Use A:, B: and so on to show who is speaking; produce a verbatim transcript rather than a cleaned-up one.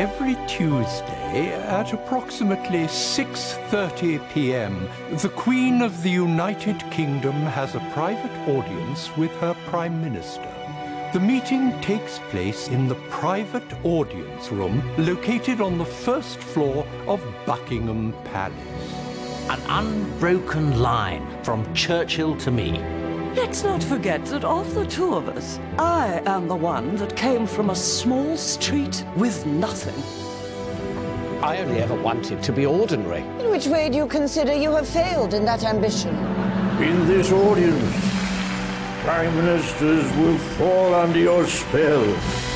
A: Every Tuesday at approximately six thirty p m, the Queen of the United Kingdom has a private audience with her Prime Minister. The meeting takes place in the private audience room located on the first floor of Buckingham Palace.
B: An unbroken line from Churchill to me.
C: Let's not forget that of the two of us, I am the one that came from a small street with nothing.
D: I only ever wanted to be ordinary.
E: In which way do you consider you have failed in that ambition?
F: In this audience, Prime Ministers will fall under your spell.